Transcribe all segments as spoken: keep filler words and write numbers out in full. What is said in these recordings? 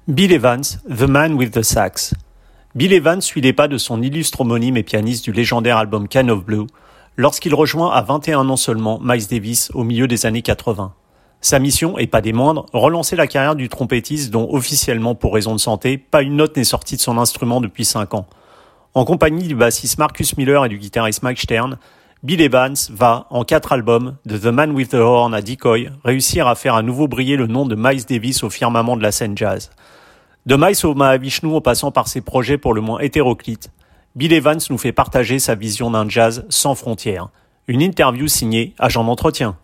Bill Evans, The Man with the Sax. Bill Evans suit les pas de son illustre homonyme et pianiste du légendaire album Kind of Blue, lorsqu'il rejoint à vingt et un ans seulement Miles Davis au milieu des années quatre-vingts. Sa mission, et pas des moindres, relancer la carrière du trompettiste dont, officiellement pour raison de santé, pas une note n'est sortie de son instrument depuis cinq ans. En compagnie du bassiste Marcus Miller et du guitariste Mike Stern, Bill Evans va, en quatre albums, de The Man with the Horn à Decoy, réussir à faire à nouveau briller le nom de Miles Davis au firmament de la scène jazz. De Miles au Mahavishnu en passant par ses projets pour le moins hétéroclites, Bill Evans nous fait partager sa vision d'un jazz sans frontières. Une interview signée Agent d'entretien.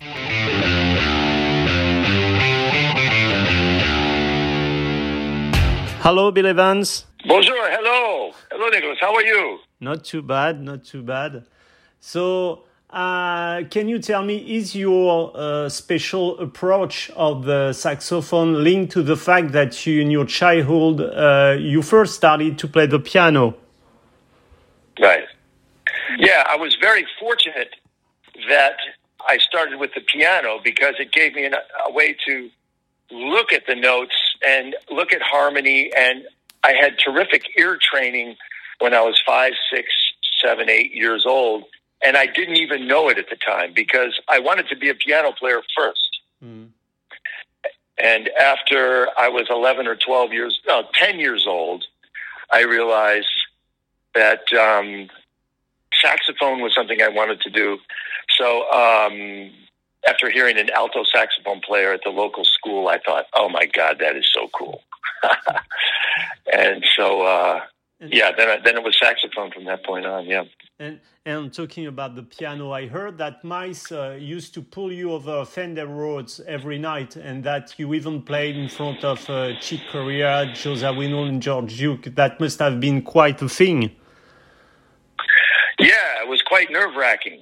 Hello, Bill Evans. Bonjour, hello. Hello, Nicholas. How are you? Not too bad, not too bad. So, uh, can you tell me, is your uh, special approach of the saxophone linked to the fact that you, in your childhood, uh, you first started to play the piano? Right. Yeah, I was very fortunate that I started with the piano because it gave me an, a way to look at the notes and look at harmony, and I had terrific ear training when I was five, six, seven, eight years old. And I didn't even know it at the time because I wanted to be a piano player first. Mm. And after I was eleven or twelve years, no, ten years old, I realized that um, saxophone was something I wanted to do. So um, after hearing an alto saxophone player at the local school, I thought, oh my God, that is so cool. And so, uh, yeah, then, I, then it was saxophone from that point on, yeah. And, and talking about the piano, I heard that Miles uh, used to pull you over Fender Rhodes every night, and that you even played in front of uh, Chick Corea, Joe Zawinul, and George Duke. That must have been quite a thing. Yeah, it was quite nerve-wracking.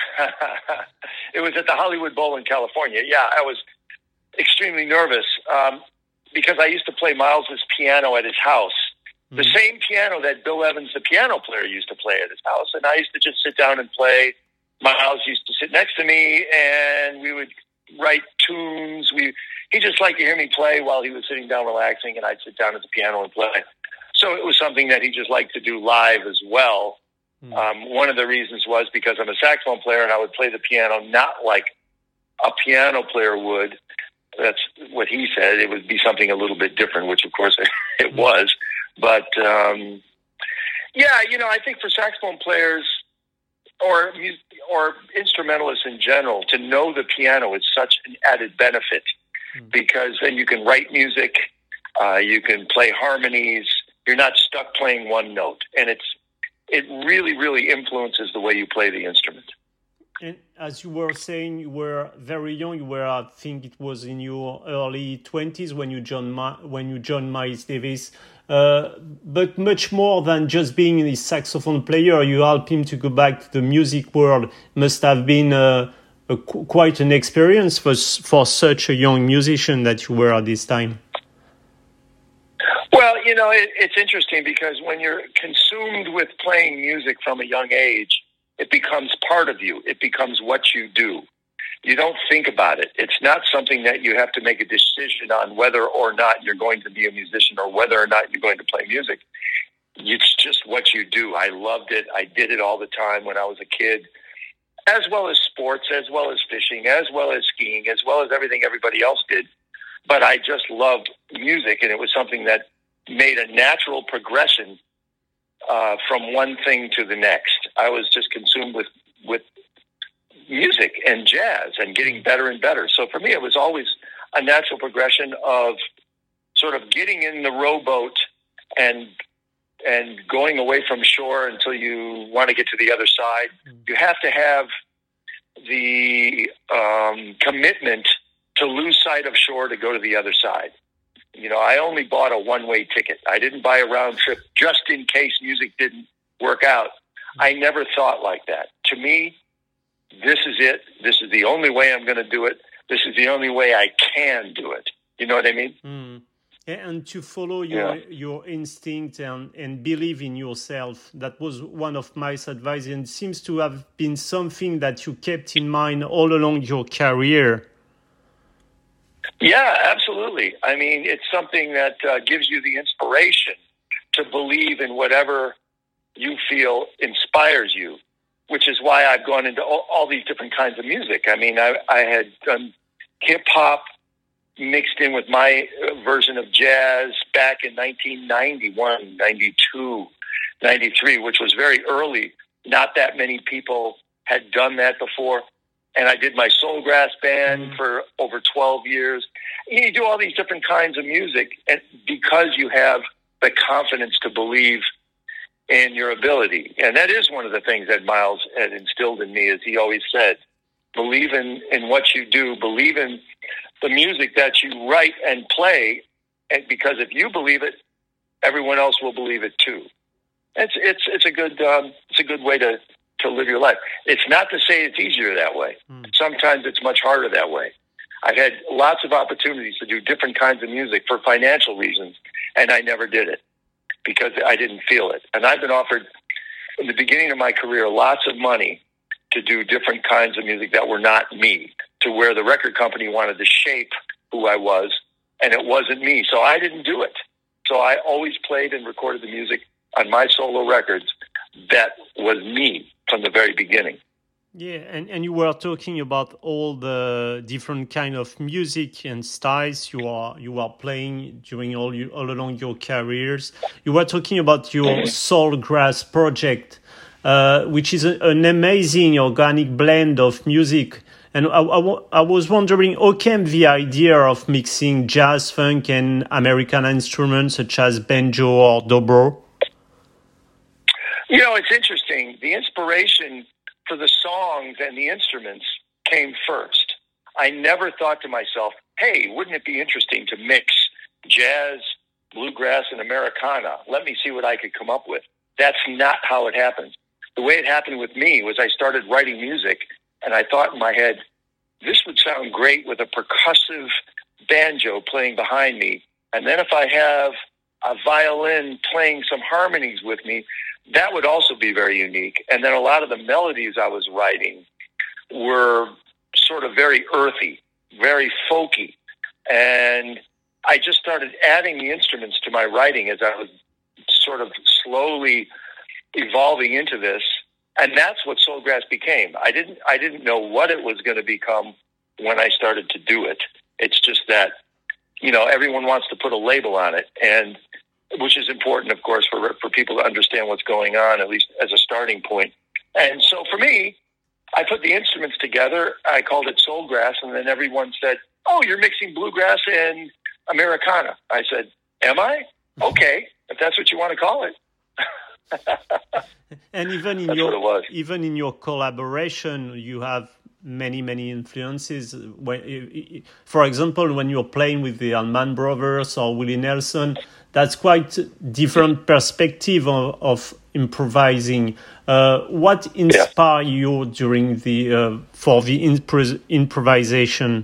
It was at the Hollywood Bowl in California. Yeah, I was extremely nervous um, because I used to play Miles's piano at his house. The mm-hmm. same piano that Bill Evans, the piano player, used to play at his house. And I used to just sit down and play. Miles used to sit next to me, and we would write tunes. We He just liked to hear me play while he was sitting down relaxing, and I'd sit down at the piano and play. So it was something that he just liked to do live as well. Mm-hmm. Um, one of the reasons was because I'm a saxophone player, and I would play the piano not like a piano player would. That's what he said. It would be something a little bit different, which, of course, it mm-hmm. was. But, um, yeah, you know, I think for saxophone players or or instrumentalists in general, to know the piano is such an added benefit mm. because then you can write music, uh, you can play harmonies, you're not stuck playing one note. And it's it really, really influences the way you play the instrument. And as you were saying, you were very young. You were, I think, it was in your early twenties when you joined when you joined Miles Davis. Uh, but much more than just being a saxophone player, you helped him to go back to the music world. Must have been a, a, quite an experience for for such a young musician that you were at this time. Well, you know, it, it's interesting because when you're consumed with playing music from a young age, it becomes part of you. It becomes what you do. You don't think about it. It's not something that you have to make a decision on whether or not you're going to be a musician or whether or not you're going to play music. It's just what you do. I loved it. I did it all the time when I was a kid, as well as sports, as well as fishing, as well as skiing, as well as everything everybody else did. But I just loved music, and it was something that made a natural progression uh, from one thing to the next. I was just consumed with, with music and jazz and getting better and better. So for me, it was always a natural progression of sort of getting in the rowboat and and going away from shore until you want to get to the other side. You have to have the um, commitment to lose sight of shore to go to the other side. You know, I only bought a one-way ticket. I didn't buy a round trip just in case music didn't work out. I never thought like that. To me, this is it. This is the only way I'm going to do it. This is the only way I can do it. You know what I mean? Mm. And to follow your yeah. your instinct and, and believe in yourself. That was one of my advice, and it seems to have been something that you kept in mind all along your career. Yeah, absolutely. I mean, it's something that uh, gives you the inspiration to believe in whatever you feel inspires you, which is why I've gone into all, all these different kinds of music. I mean, I, I had done hip hop mixed in with my version of jazz back in nineteen ninety-one, ninety-two, ninety-three, which was very early. Not that many people had done that before. And I did my Soulgrass band mm-hmm. for over twelve years. You do all these different kinds of music, and because you have the confidence to believe in your ability. And that is one of the things that Miles had instilled in me, as he always said, believe in, in what you do, believe in the music that you write and play, and because if you believe it, everyone else will believe it too. It's it's it's a good um, it's a good way to, to live your life. It's not to say it's easier that way. Mm. Sometimes it's much harder that way. I've had lots of opportunities to do different kinds of music for financial reasons, and I never did it because I didn't feel it. And I've been offered, in the beginning of my career, lots of money to do different kinds of music that were not me, to where the record company wanted to shape who I was, and it wasn't me. So I didn't do it. So I always played and recorded the music on my solo records that was me from the very beginning. Yeah, and, and you were talking about all the different kind of music and styles you are you are playing during all you, all along your careers. You were talking about your Soulgrass project, uh, which is a, an amazing organic blend of music. And I, I, I was wondering, how came the idea of mixing jazz, funk, and American instruments such as banjo or dobro? You know, it's interesting. The inspiration for the songs and the instruments came first. I never thought to myself, hey, wouldn't it be interesting to mix jazz, bluegrass, and Americana? Let me see what I could come up with. That's not how it happens. The way it happened with me was I started writing music, and I thought in my head, this would sound great with a percussive banjo playing behind me. And then if I have a violin playing some harmonies with me, that would also be very unique. And then a lot of the melodies I was writing were sort of very earthy, very folky. And I just started adding the instruments to my writing as I was sort of slowly evolving into this. And that's what Soulgrass became. I didn't I didn't know what it was going to become when I started to do it. It's just that, you know, everyone wants to put a label on it, and which is important, of course, for for people to understand what's going on, at least as a starting point. And so for me, I put the instruments together. I called it Soulgrass, and then everyone said, oh, you're mixing bluegrass and Americana. I said, am I? Okay, if that's what you want to call it. And even in That's your even in your collaboration, you have many many influences. When, for example, when you're playing with the Allman Brothers or Willie Nelson, that's quite different perspective of, of improvising. Uh, what inspired yeah. you during the uh, for the impro- improvisation?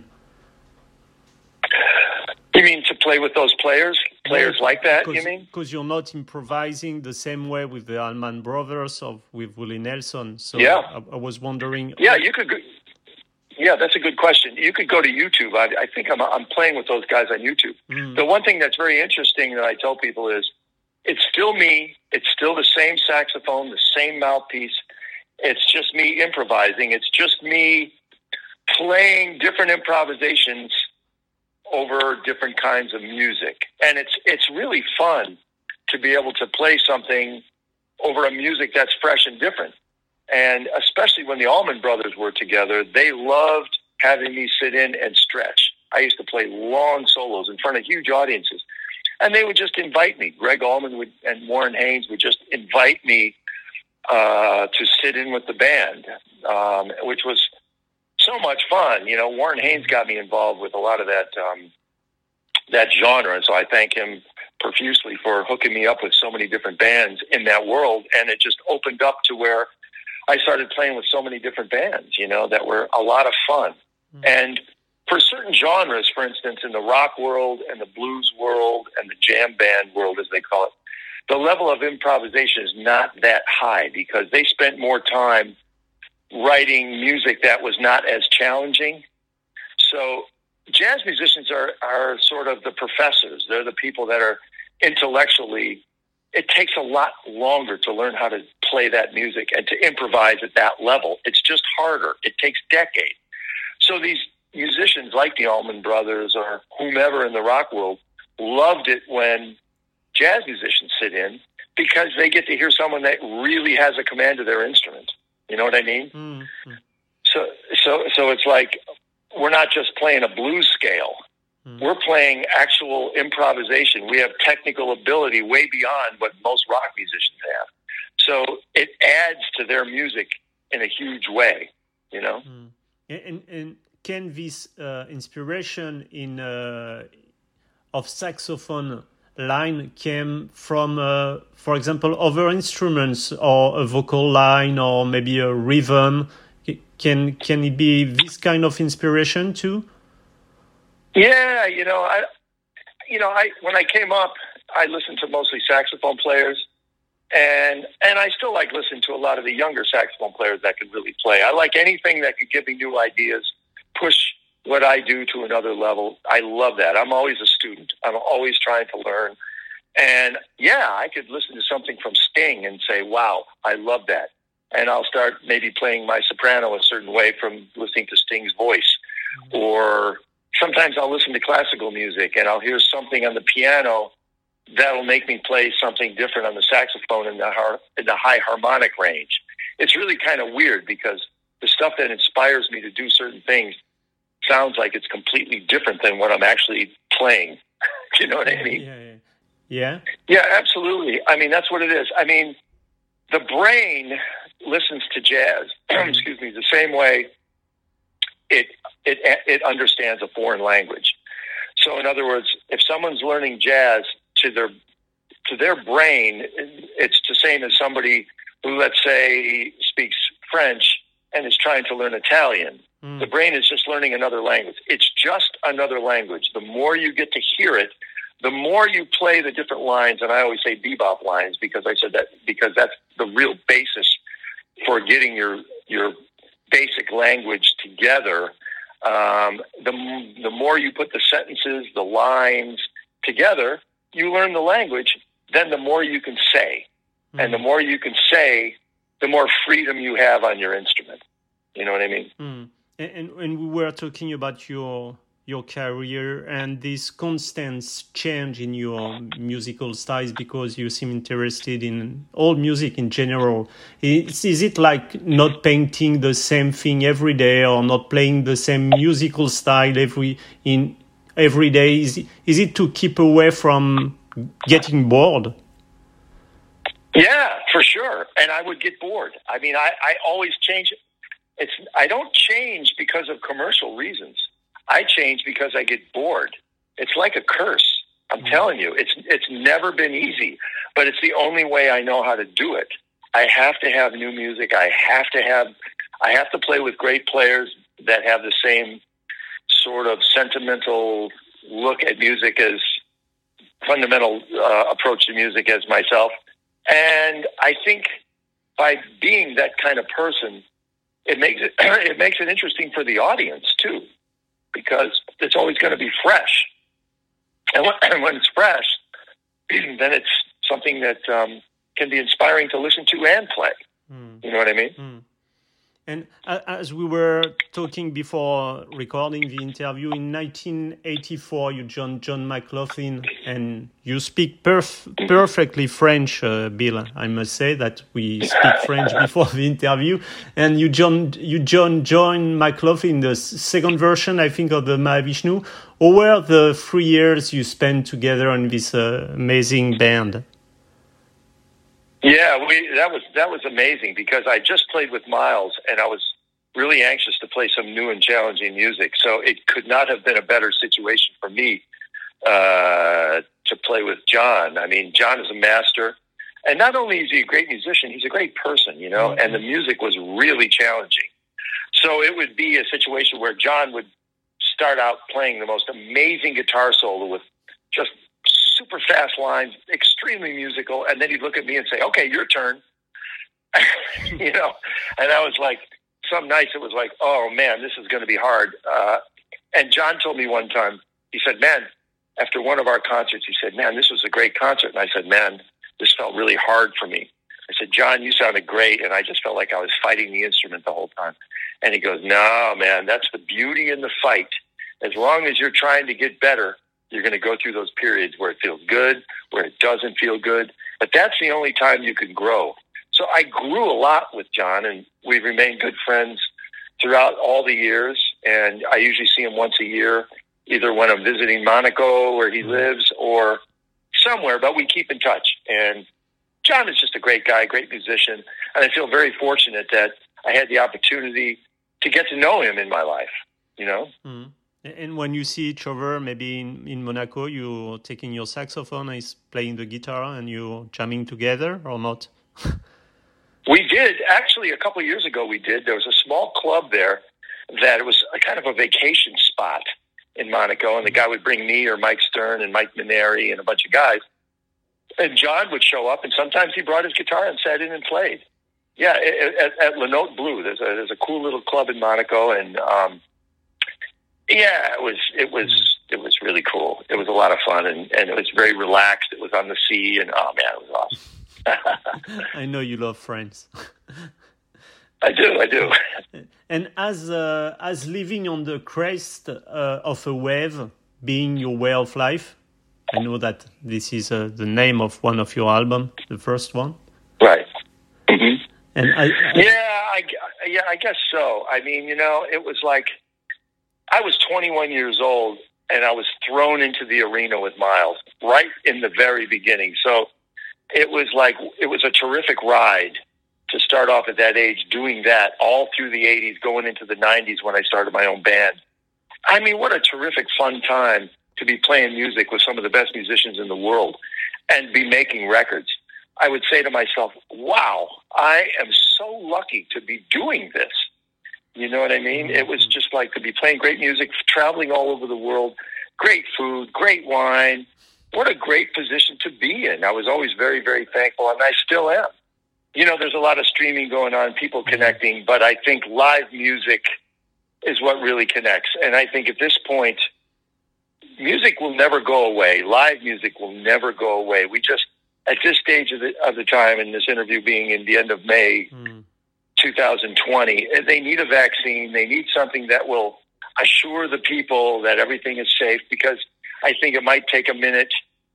You mean to play with those players? Players like that, you mean? Because you're not improvising the same way with the Allman Brothers or with Willie Nelson. So yeah. I, I was wondering. Yeah, you could. Go, yeah, that's a good question. You could go to YouTube. I, I think I'm I'm playing with those guys on YouTube. Mm. The one thing that's very interesting that I tell people is, it's still me. It's still the same saxophone, the same mouthpiece. It's just me improvising. It's just me playing different improvisations over different kinds of music. And it's it's really fun to be able to play something over a music that's fresh and different. And especially when the Allman Brothers were together, they loved having me sit in and stretch. I used to play long solos in front of huge audiences. And they would just invite me. Greg Allman would, and Warren Haynes would just invite me uh, to sit in with the band, um, which was so much fun. You know, Warren Haynes got me involved with a lot of that um, that genre, and so I thank him profusely for hooking me up with so many different bands in that world. And it just opened up to where I started playing with so many different bands, you know, that were a lot of fun. Mm-hmm. And for certain genres, for instance, in the rock world and the blues world and the jam band world, as they call it, the level of improvisation is not that high because they spent more time writing music that was not as challenging. So jazz musicians are, are sort of the professors. They're the people that are intellectually, it takes a lot longer to learn how to play that music and to improvise at that level. It's just harder. It takes decades. So these musicians like the Allman Brothers or whomever in the rock world loved it when jazz musicians sit in, because they get to hear someone that really has a command of their instrument. You know what I mean? Mm-hmm. So, so, so it's like we're not just playing a blues scale. Mm-hmm. We're playing actual improvisation. We have technical ability way beyond what most rock musicians have. So it adds to their music in a huge way. You know. Mm-hmm. And, and, and can this uh, inspiration in uh, of saxophone line came from, uh, for example, other instruments or a vocal line or maybe a rhythm? Can can it be this kind of inspiration too? Yeah, you know, I, you know, I when I came up, I listened to mostly saxophone players, and and I still like listening to a lot of the younger saxophone players that can really play. I like anything that could give me new ideas, push what I do to another level. I love that. I'm always a student. I'm always trying to learn. And yeah, I could listen to something from Sting and say, wow, I love that. And I'll start maybe playing my soprano a certain way from listening to Sting's voice. Mm-hmm. Or sometimes I'll listen to classical music and I'll hear something on the piano that'll make me play something different on the saxophone in the, har- in the high harmonic range. It's really kind of weird because the stuff that inspires me to do certain things sounds like it's completely different than what I'm actually playing. Do you know what I mean? Yeah, yeah. Yeah, yeah, absolutely. I mean, that's what it is. I mean, the brain listens to jazz, excuse me, the same way it, it, it understands a foreign language. So in other words, if someone's learning jazz to their, to their brain, it's the same as somebody who, let's say, speaks French and is trying to learn Italian. Mm. The brain is just learning another language. It's just another language. The more you get to hear it, the more you play the different lines, and I always say bebop lines because I said that because that's the real basis for getting your your basic language together. Um, the the more you put the sentences, the lines together, you learn the language. Then the more you can say, mm. and the more you can say, the more freedom you have on your instrument. You know what I mean? Mm. And, and and we were talking about your your career and this constant change in your musical styles because you seem interested in all music in general. Is, is it like not painting the same thing every day or not playing the same musical style every in every day? Is it, is it to keep away from getting bored? Yeah, for sure. And I would get bored. I mean, I, I always change it. It's I don't change because of commercial reasons. I change because I get bored. It's like a curse. I'm mm-hmm. telling you, it's it's never been easy, but it's the only way I know how to do it. I have to have new music. I have to have I have to play with great players that have the same sort of sentimental look at music as fundamental uh, approach to music as myself. And I think by being that kind of person, it makes it it makes it interesting for the audience too, because it's always going to be fresh. And when, when it's fresh, then it's something that um, can be inspiring to listen to and play. Mm. You know what I mean? Mm. And as we were talking before recording the interview, in nineteen eighty-four, you joined John McLaughlin, and you speak perf- perfectly French, uh, Bill. I must say that we speak French before the interview. And you joined, you joined John McLaughlin, the second version, I think, of the Mahavishnu. How were the three years you spent together in this uh, amazing band? Yeah, we, that was that was amazing because I just played with Miles and I was really anxious to play some new and challenging music. So it could not have been a better situation for me uh, to play with John. I mean, John is a master, and not only is he a great musician, he's a great person, you know. Mm-hmm. And the music was really challenging. So it would be a situation where John would start out playing the most amazing guitar solo with just super fast lines, extremely musical, and then he'd look at me and say, okay, your turn. You know, and I was like, some nights it was like, oh man, this is going to be hard. Uh, And John told me one time, he said, man, after one of our concerts, he said, man, this was a great concert. And I said, man, this felt really hard for me. I said, John, you sounded great. And I just felt like I was fighting the instrument the whole time. And he goes, no, man, that's the beauty in the fight. As long as you're trying to get better, you're going to go through those periods where it feels good, where it doesn't feel good. But that's the only time you can grow. So I grew a lot with John, and we've remained good friends throughout all the years. And I usually see him once a year, either when I'm visiting Monaco, where he lives, or somewhere, but we keep in touch. And John is just a great guy, great musician, and I feel very fortunate that I had the opportunity to get to know him in my life, you know? Mm. And when you see each other, maybe in, in Monaco, you're taking your saxophone, and he's playing the guitar, and you're jamming together, or not? We did. Actually, a couple of years ago, we did. There was a small club there that it was a kind of a vacation spot in Monaco, and the guy would bring me or Mike Stern and Mike Maneri and a bunch of guys. And John would show up, and sometimes he brought his guitar and sat in and played. Yeah, at, at Le Note Bleu, there's a there's a cool little club in Monaco, and um, yeah, it was it was it was really cool. It was a lot of fun, and, and it was very relaxed. It was on the sea, and oh man, it was awesome. I know you love France. I do, I do. And as uh, as living on the crest uh, of a wave being your way of life, I know that this is uh, the name of one of your albums, the first one. Right. Mm-hmm. And I, I, yeah, I, yeah, I guess so. I mean, you know, it was like I was twenty-one years old, and I was thrown into the arena with Miles right in the very beginning. So it was like it was a terrific ride to start off at that age, doing that all through the eighties, going into the nineties when I started my own band. I mean, what a terrific, fun time to be playing music with some of the best musicians in the world and be making records. I would say to myself, wow, I am so lucky to be doing this. You know what I mean? It was just like to be playing great music, traveling all over the world, great food, great wine. What a great position to be in. I was always very, very thankful, and I still am. You know, there's a lot of streaming going on, people connecting, but I think live music is what really connects. And I think at this point, music will never go away. Live music will never go away. We just, at this stage of the, of the time, in this interview being in the end of May mm. two thousand twenty, they need a vaccine. They need something that will assure the people that everything is safe, because I think it might take a minute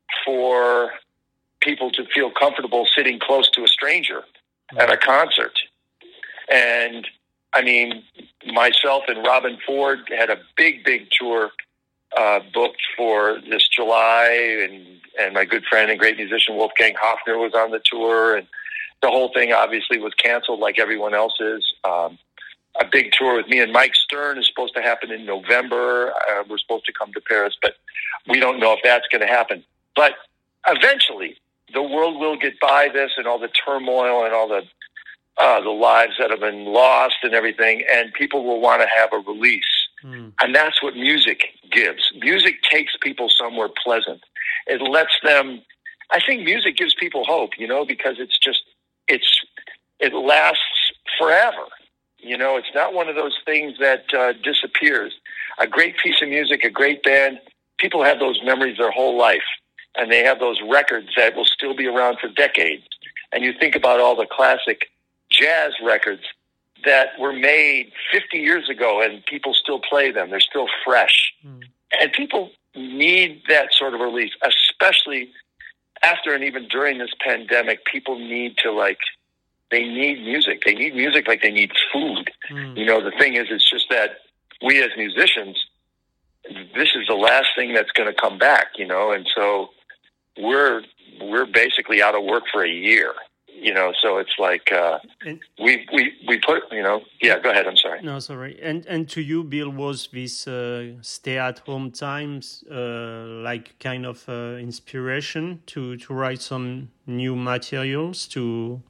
for people to feel comfortable sitting close to a stranger mm. at a concert. And I mean, myself and Robin Ford had a big, big tour uh, booked for this July, and, and my good friend and great musician Wolfgang Hofner was on the tour, and the whole thing obviously was canceled like everyone else's. Um, a big tour with me and Mike Stern is supposed to happen in November. Uh, we're supposed to come to Paris, but we don't know if that's going to happen. But eventually, the world will get by this and all the turmoil and all the uh, the lives that have been lost and everything, and people will want to have a release. Mm. And that's what music gives. Music takes people somewhere pleasant. It lets them, I think music gives people hope, you know, because it's just, it's, it lasts forever. You know, it's not one of those things that uh, disappears. A great piece of music, a great band, people have those memories their whole life, and they have those records that will still be around for decades. And you think about all the classic jazz records that were made fifty years ago, and people still play them. They're still fresh. Mm. And people need that sort of release, especially after and even during this pandemic. People need to, like, they need music. They need music like they need food. Mm. You know, the thing is, it's just that we as musicians, this is the last thing that's going to come back, you know, and so we're we're basically out of work for a year. You know, so it's like uh, and, we we we put, you know, yeah. Go ahead. I'm sorry. No, sorry. And and to you, Bill, was this uh, stay-at-home times uh, like kind of uh, inspiration to, to write some new materials, to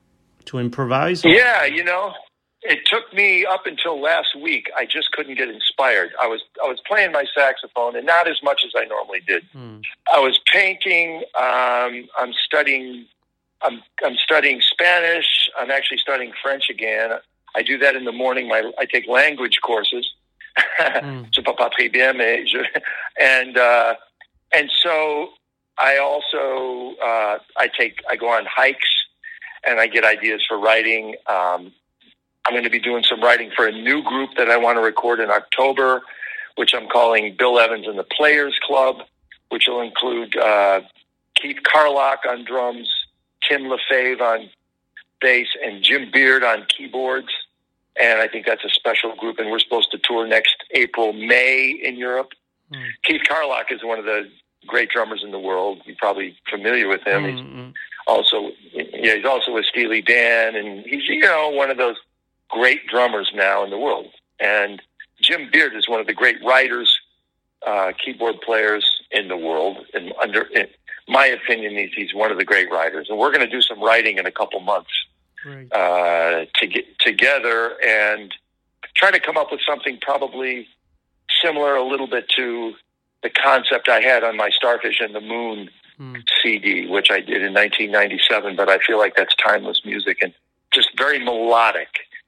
to improvise? Yeah, you know, it took me up until last week. I just couldn't get inspired. I was I was playing my saxophone, and not as much as I normally did. Hmm. I was painting. Um, I'm studying. I'm I'm studying Spanish. I'm actually studying French again. I do that in the morning. My I take language courses, Mm. Je parle pas très bien, mais je, and, uh, and so I also, uh, I take, I go on hikes and I get ideas for writing. Um, I'm going to be doing some writing for a new group that I want to record in October, which I'm calling Bill Evans and the Players Club, which will include, uh, Keith Carlock on drums, Tim LaFave on bass, and Jim Beard on keyboards. And I think that's a special group, and we're supposed to tour next April, May in Europe. Mm. Keith Carlock is one of the great drummers in the world. You're probably familiar with him. Mm-hmm. He's also, yeah, he's also with Steely Dan, and he's, you know, one of those great drummers now in the world. And Jim Beard is one of the great writers, uh, keyboard players in the world. And under, in my opinion, he's, he's one of the great writers. And we're going to do some writing in a couple months. Right. Uh, to get together and try to come up with something probably similar a little bit to the concept I had on my Starfish and the Moon mm. C D, which I did in nineteen ninety-seven. But I feel like that's timeless music and just very melodic,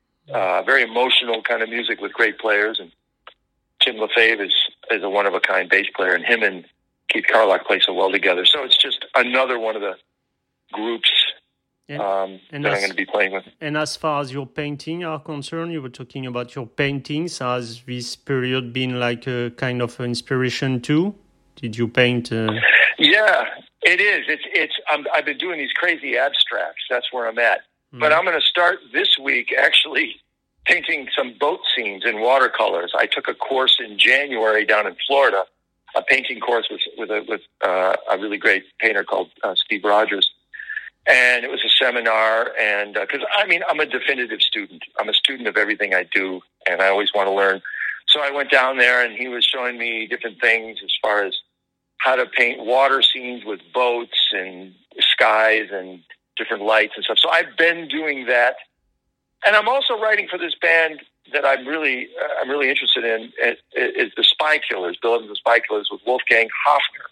uh, very emotional kind of music with great players. And Tim LaFave is, is a one-of-a-kind bass player, and him and Keith Carlock play so well together. So it's just another one of the groups And, um, and that as, I'm going to be playing with. And as far as your painting are concerned, you were talking about your paintings. Has this period been like a kind of inspiration too? Did you paint? Uh... Yeah, it is. It's it's. I'm, I've been doing these crazy abstracts. That's where I'm at. Mm. But I'm going to start this week actually painting some boat scenes in watercolors. I took a course in January down in Florida, a painting course with with a, with uh, a really great painter called uh, Steve Rogers. And it was a seminar, and because uh, I mean, I'm a definitive student. I'm a student of everything I do, and I always want to learn. So I went down there, and he was showing me different things as far as how to paint water scenes with boats and skies and different lights and stuff. So I've been doing that, and I'm also writing for this band that I'm really, uh, I'm really interested in. It, it, is the Spy Killers, Bill Evans and the Spy Killers with Wolfgang Hafner.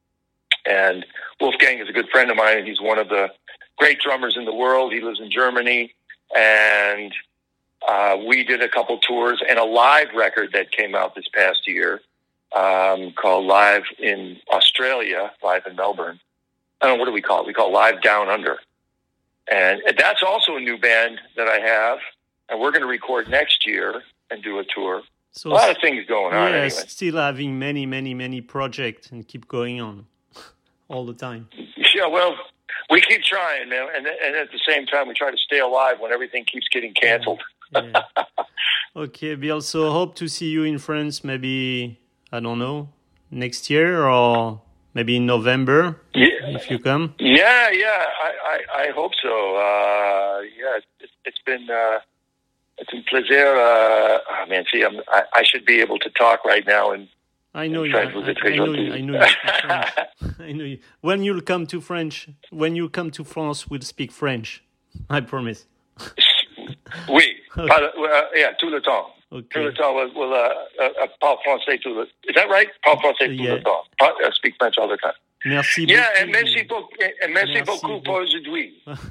And Wolfgang is a good friend of mine, and he's one of the great drummers in the world. He lives in Germany, and uh, we did a couple tours and a live record that came out this past year um, called Live in Australia, Live in Melbourne. I don't know, what do we call it? We call it Live Down Under. And that's also a new band that I have, and we're going to record next year and do a tour. So a lot of things going on anyway. Still having many, many, many projects and keep going on all the time. Yeah, well, we keep trying, man, and and at the same time, we try to stay alive when everything keeps getting canceled. Yeah. Okay, Bill. So hope to see you in France. Maybe I don't know next year or maybe in November. Yeah. If you come. Yeah, yeah. I I, I hope so. Uh, yeah, it, it's been uh, it's a plaisir. Uh, oh, man, see, I'm, I I should be able to talk right now and. I know you. I, I know you. I know you. I know you. When you'll come to French, when you come to France, we'll speak French. I promise. Oui. Okay. Par, uh, yeah, tout le temps. Okay. Tout le temps. We'll, we'll uh, uh, parle français tout le. Is that right? Parle français tout yeah. le temps. I uh, speak French all the time. Merci yeah, beaucoup. and merci beaucoup. And merci, merci beaucoup pour aujourd'hui.